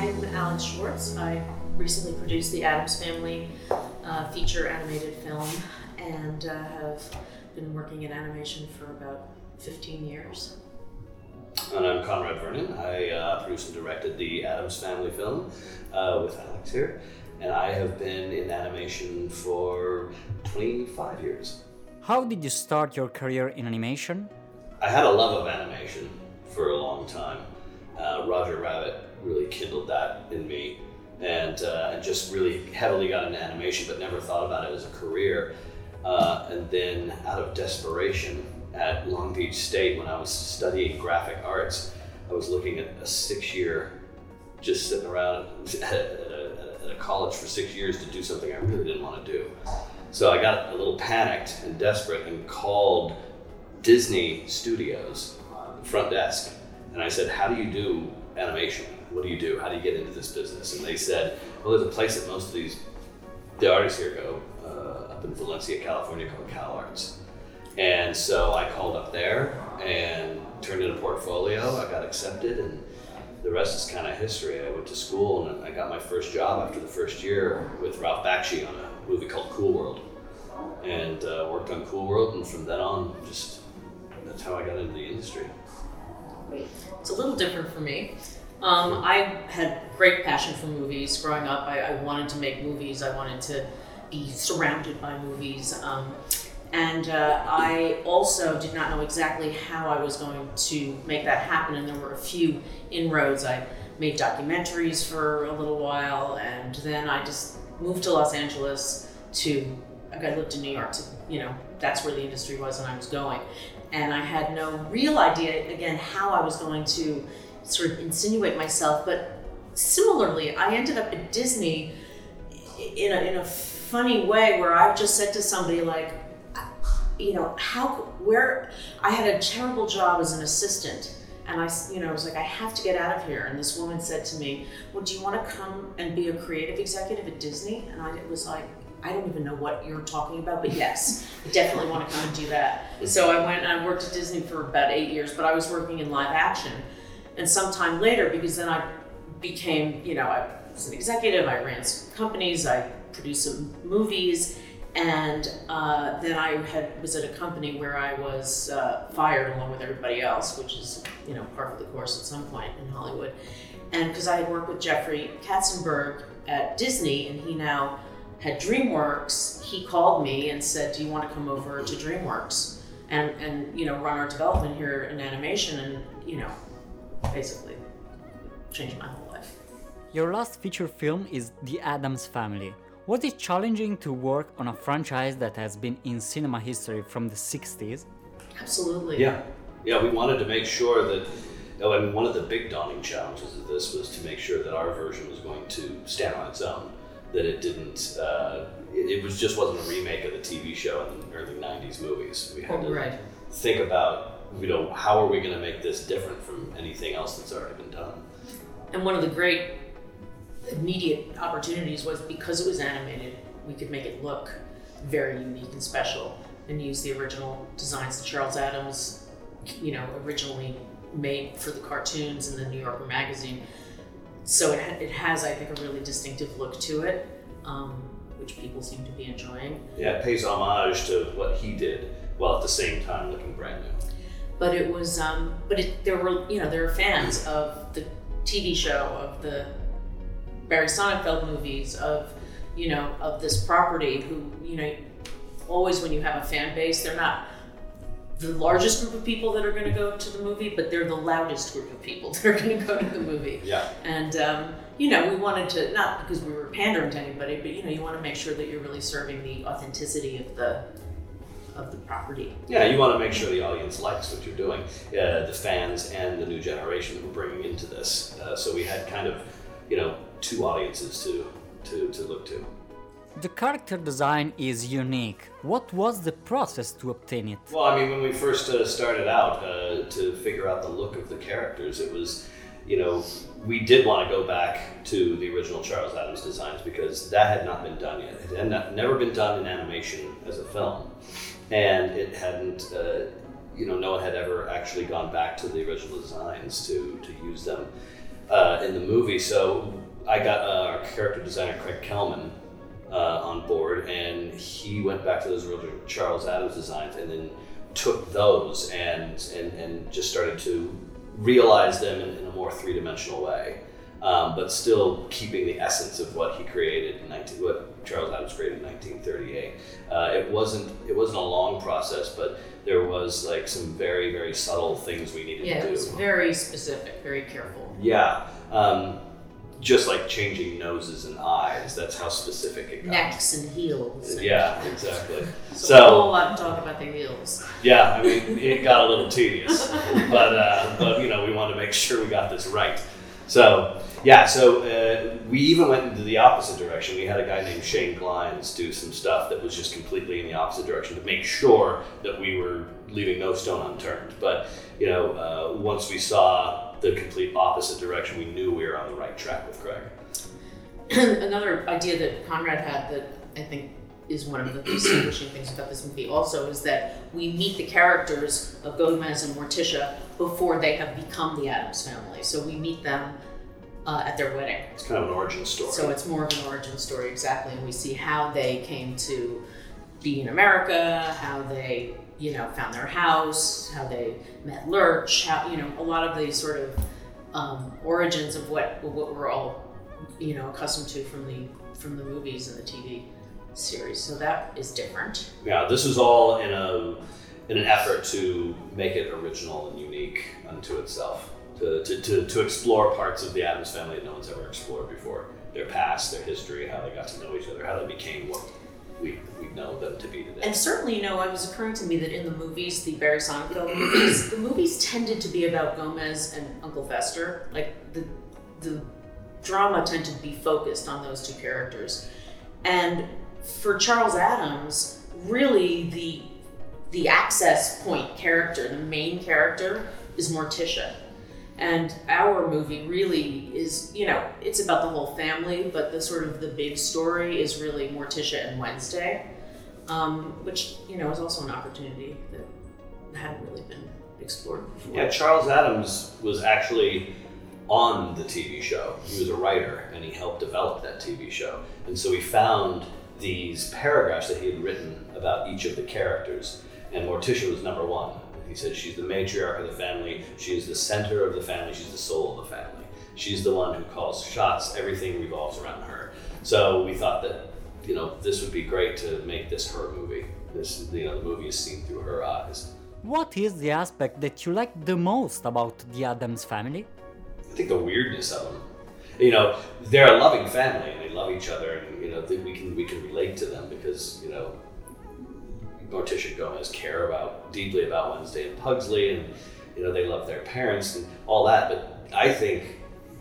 I'm Alex Schwartz. I recently produced the Addams Family feature animated film and have been working in animation for about 15 years. And I'm Conrad Vernon. I produced and directed the Addams Family film with Alex here. And I have been in animation for 25 years. How did you start your career in animation? I had a love of animation for a long time. Roger Rabbit really kindled that in me, and just really heavily got into animation, but never thought about it as a career. And then out of desperation at Long Beach State, when I was studying graphic arts, I was looking at a 6-year, just sitting around at a college for 6 years to do something I really didn't want to do. So I got a little panicked and desperate and called Disney Studios, the front desk, and I said, how do you do animation? What do you do? How do you get into this business? And they said, well, there's a place that most of the artists here go, up in Valencia, California, called CalArts. And so I called up there and turned in a portfolio. I got accepted, and the rest is kind of history. I went to school and I got my first job after the first year with Ralph Bakshi on a movie called Cool World, and worked on Cool World, and from then on, that's how I got into the industry. It's a little different for me. I had great passion for movies growing up. I wanted to make movies. I wanted to be surrounded by movies. And I also did not know exactly how I was going to make that happen, and there were a few inroads. I made documentaries for a little while, and then I just moved to Los Angeles I lived in New York, that's where the industry was and I was going. And I had no real idea, again, how I was going to sort of insinuate myself. But similarly, I ended up at Disney in a funny way where I just said to somebody like, I had a terrible job as an assistant. And I was like, I have to get out of here. And this woman said to me, well, do you want to come and be a creative executive at Disney? And I was like, I don't even know what you're talking about, but yes, I definitely want to come and do that. So I went and I worked at Disney for about 8 years, but I was working in live action. And sometime later, because then I became, I was an executive, I ran some companies, I produced some movies, and then I was at a company where I was fired along with everybody else, which is, part of the course at some point in Hollywood. And because I had worked with Jeffrey Katzenberg at Disney, and he now had DreamWorks, he called me and said, do you want to come over to DreamWorks and run our development here in animation? And, basically changed my whole life. Your last feature film is The Addams Family. Was it challenging to work on a franchise that has been in cinema history from the 60s? Absolutely. Yeah, we wanted to make sure that, one of the big daunting challenges of this was to make sure that our version was going to stand on its own, that it didn't, it wasn't a remake of the TV show in the early 90s movies. We had to think about, how are we going to make this different from anything else that's already been done? And one of the great immediate opportunities was, because it was animated, we could make it look very unique and special and use the original designs that Charles Addams, originally made for the cartoons in the New Yorker magazine. So it has, I think, a really distinctive look to it, which people seem to be enjoying. Yeah, it pays homage to what he did, while at the same time looking brand new. But it was, there were fans of the TV show, of the Barry Sonnenfeld movies, of this property who, always when you have a fan base, they're not the largest group of people that are going to go to the movie, but they're the loudest group of people that are going to go to the movie. Yeah. And, we wanted to, not because we were pandering to anybody, but, you want to make sure that you're really serving the authenticity of the property. Yeah, you want to make sure the audience likes what you're doing, the fans and the new generation that we're bringing into this. So we had kind of, two audiences to look to. The character design is unique. What was the process to obtain it? Well, when we first started out to figure out the look of the characters, it was, we did want to go back to the original Charles Addams designs because that had not been done yet. It had never been done in animation as a film. And it hadn't, no one had ever actually gone back to the original designs to use them. in the movie. So I got our character designer Craig Kelman on board, and he went back to those original Charles Addams designs and then took those and just started to realize them in a more three-dimensional way, but still keeping the essence of what he created what Charles Addams created in 1938. It wasn't a long process, but there was like some very, very subtle things we needed to do. Yeah, it was very specific, very careful. Yeah. Just like changing noses and eyes, that's how specific it got. Necks and heels. Yeah, exactly. So a whole lot to talk about the heels. Yeah, I mean, it got a little tedious, but we wanted to make sure we got this right. So we even went into the opposite direction. We had a guy named Shane Glines do some stuff that was just completely in the opposite direction to make sure that we were leaving no stone unturned. But once we saw the complete opposite direction, we knew we were on the right track with Craig. Another idea that Conrad had that I think is one of the distinguishing things about this movie also is that we meet the characters of Gomez and Morticia before they have become the Addams family. So we meet them at their wedding. It's kind of an origin story. So it's more of an origin story, exactly. And we see how they came to be in America, how they found their house, how they met Lurch, how a lot of these sort of origins of what we're all accustomed to from the movies and the TV series. So that is different. Yeah, this is all in an effort to make it original and unique unto itself, to explore parts of the Addams family that no one's ever explored before, their past, their history, how they got to know each other, how they became what we know them to be today. And certainly, it was occurring to me that in the movies, the Barry Sonnenfeld movies, the movies tended to be about Gomez and Uncle Fester. Like the drama tended to be focused on those two characters. And for Charles Addams, really the access point character, the main character, is Morticia. And our movie really is, it's about the whole family, but the big story is really Morticia and Wednesday, which, is also an opportunity that hadn't really been explored before. Yeah, Charles Addams was actually on the TV show. He was a writer, and he helped develop that TV show. And so we found these paragraphs that he had written about each of the characters, and Morticia was number one. He said she's the matriarch of the family, she is the center of the family, she's the soul of the family. She's the one who calls shots, everything revolves around her. So we thought that, this would be great to make this her movie. The movie is seen through her eyes. What is the aspect that you like the most about the Addams family? I think the weirdness of them. They're a loving family and they love each other, and we can relate to them because, Morticia and Gomez care deeply about Wednesday and Pugsley, and they love their parents and all that. But I think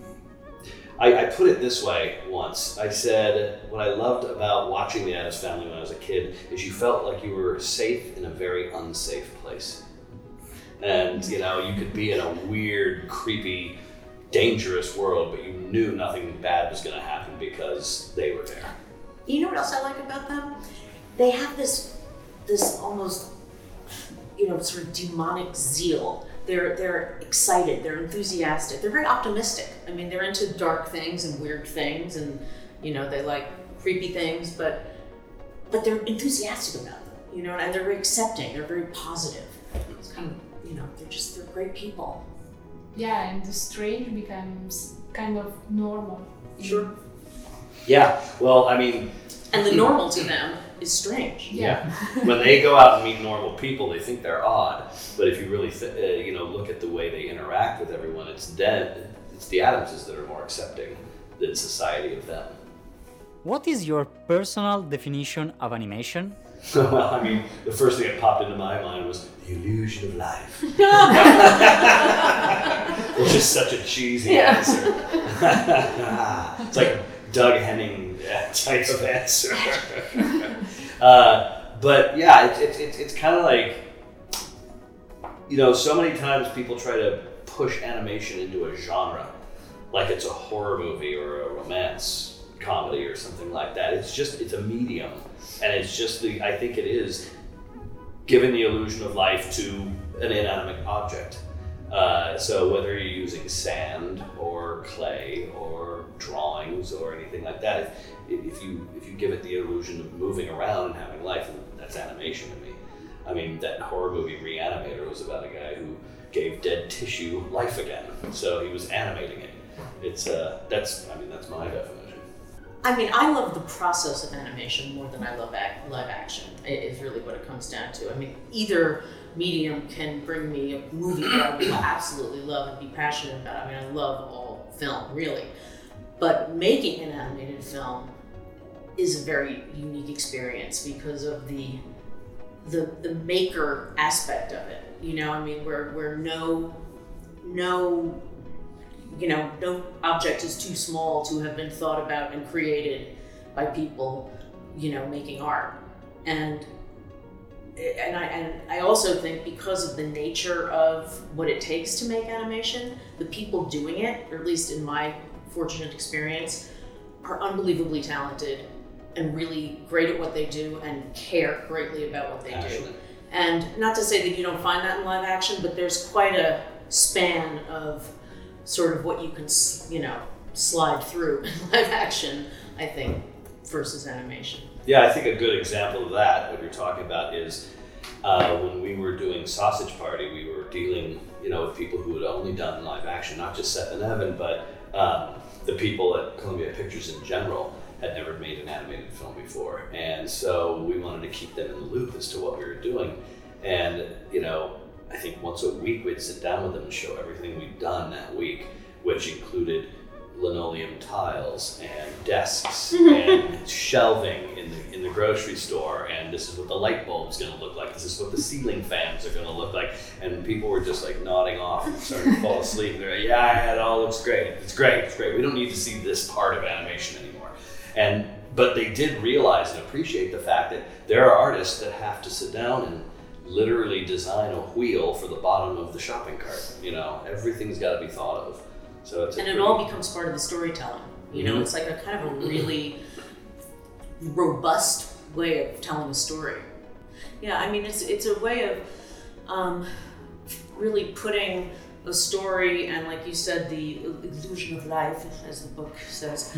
I put it this way once. I said what I loved about watching the Addams Family when I was a kid is you felt like you were safe in a very unsafe place, and you could be in a weird, creepy, dangerous world, but you knew nothing bad was going to happen because they were there. You know what else I like about them? They have this almost, sort of demonic zeal. They're excited, they're enthusiastic, they're very optimistic. I mean, they're into dark things and weird things, and they like creepy things, but they're enthusiastic about them, and they're very accepting, they're very positive. It's kind of, they're great people. Yeah, and the strange becomes kind of normal. Sure. Yeah, well, I mean... And the normal to them is strange. Yeah. When they go out and meet normal people, they think they're odd. But if you really, look at the way they interact with everyone, it's the Addamses that are more accepting than society of them. What is your personal definition of animation? Well, I mean, the first thing that popped into my mind was the illusion of life. Which is such a cheesy answer. It's like Doug Henning type of answer. But yeah, it's kind of like, so many times people try to push animation into a genre, like it's a horror movie or a romance comedy or something like that. It's a medium, and it's just I think it is giving the illusion of life to an inanimate object. So whether you're using sand or clay or drawings or anything like that, if you give it the illusion of moving around and having life, that's animation to me. I mean, that horror movie Reanimator was about a guy who gave dead tissue life again. So he was animating it. That's my definition. I mean, I love the process of animation more than I love live action. Is really what it comes down to. I mean, either medium can bring me a movie that I will absolutely love and be passionate about. I mean, I love all film, really. But making an animated film is a very unique experience because of the maker aspect of it. You know, I mean, where no object is too small to have been thought about and created by people, making art. And I also think because of the nature of what it takes to make animation, the people doing it, or at least in my fortunate experience, are unbelievably talented and really great at what they do and care greatly about what they do. And not to say that you don't find that in live action, but there's quite a span of sort of what you can, slide through in live action, I think, versus animation. Yeah, I think a good example of that, what you're talking about, is when we were doing Sausage Party, we were dealing, with people who had only done live action, not just Seth and Evan, but the people at Columbia Pictures in general had never made an animated film before. And so we wanted to keep them in the loop as to what we were doing. And, I think once a week we'd sit down with them and show everything we'd done that week, which included linoleum tiles and desks and shelving in the grocery store, and this is what the light bulb's going to look like, this is what the ceiling fans are going to look like. And people were just like nodding off and starting to fall asleep. They're like, yeah, it all looks great. It's great. We don't need to see this part of animation anymore. But they did realize and appreciate the fact that there are artists that have to sit down and literally design a wheel for the bottom of the shopping cart. Everything's got to be thought of. So it all becomes part of the storytelling. It's like a kind of a really robust way of telling a story. Yeah, I mean, it's a way of really putting a story, and like you said, the illusion of life, as the book says,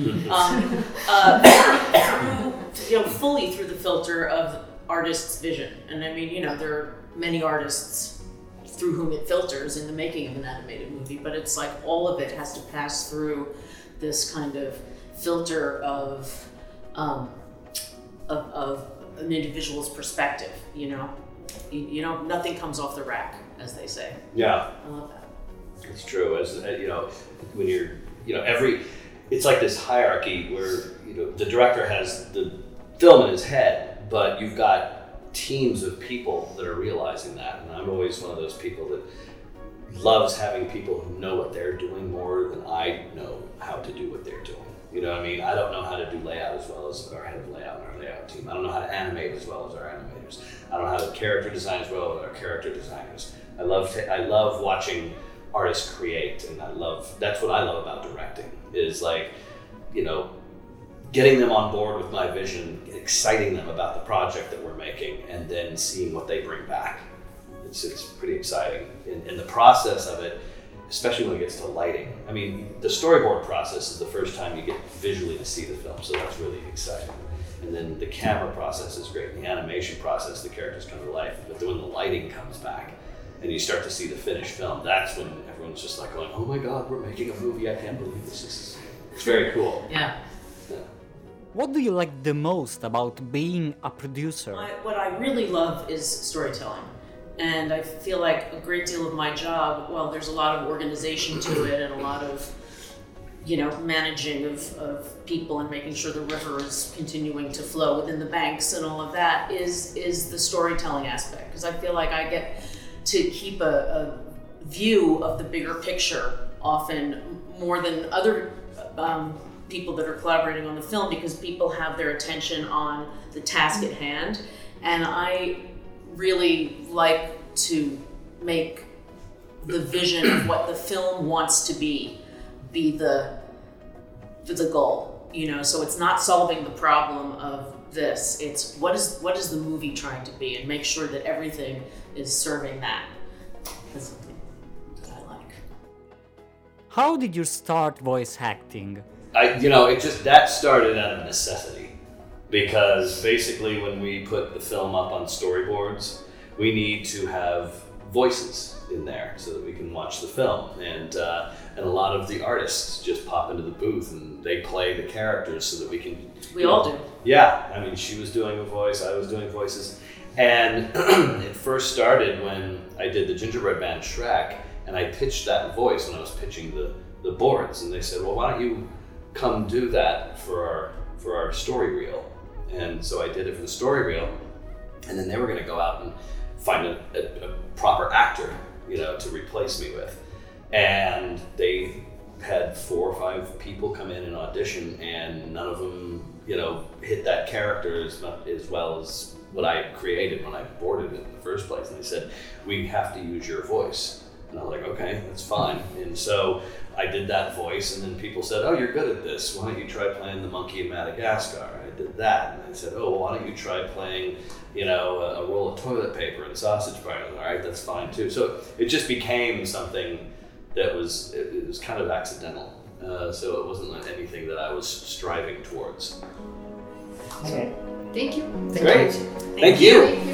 fully through the filter of artist's vision. And I mean, there are many artists through whom it filters in the making of an animated movie, but it's like all of it has to pass through this kind of filter of an individual's perspective. Nothing comes off the rack, as they say. Yeah, I love that. It's true. As when you're, it's like this hierarchy where the director has the film in his head, but you've got teams of people that are realizing that. And I'm always one of those people that loves having people who know what they're doing more than I know how to do what they're doing. I don't know how to do layout as well as our head of layout and our layout team. I don't know how to animate as well as our animators. I don't know how to character design as well as our character designers. I love watching artists create, and that's what I love about directing, is getting them on board with my vision, exciting them about the project that we're making, and then seeing what they bring back. It's pretty exciting. In the process of it, especially when it gets to lighting. I mean, the storyboard process is the first time you get visually to see the film, so that's really exciting. And then the camera process is great. The animation process, the characters come to life. But then when the lighting comes back and you start to see the finished film, that's when everyone's just like going, oh my God, we're making a movie. I can't believe this. It's very cool. Yeah. What do you like the most about being a producer? What I really love is storytelling. And I feel like a great deal of my job, there's a lot of organization to it and a lot of, managing of people and making sure the river is continuing to flow within the banks and all of that is the storytelling aspect. Because I feel like I get to keep a view of the bigger picture often more than other people that are collaborating on the film, because people have their attention on the task at hand. And I really like to make the vision of what the film wants to be the goal, so it's not solving the problem of this, it's what is the movie trying to be, and make sure that everything is serving that. That's something that I like. How did you start voice acting? That started out of necessity, because basically when we put the film up on storyboards, we need to have voices in there so that we can watch the film, and a lot of the artists just pop into the booth and they play the characters so that we can. We all do. Yeah, I mean, she was doing a voice, I was doing voices, and it first started when I did the Gingerbread Man Shrek, and I pitched that voice when I was pitching the boards, and they said, well, why don't you come do that for our story reel? And so I did it for the story reel, and then they were going to go out and find a proper actor, to replace me with. And they had 4 or 5 people come in and audition, and none of them, hit that character as well as what I created when I boarded it in the first place. And they said, we have to use your voice. And I was like, okay, that's fine. And so I did that voice, and then people said, oh, you're good at this. Why don't you try playing the monkey in Madagascar? I did that. And I said, oh, well, why don't you try playing, a roll of toilet paper in Sausage Party? All right, that's fine too. So it just became something that it was kind of accidental. So it wasn't like anything that I was striving towards. Thank you. Great. Thank you. Thank you.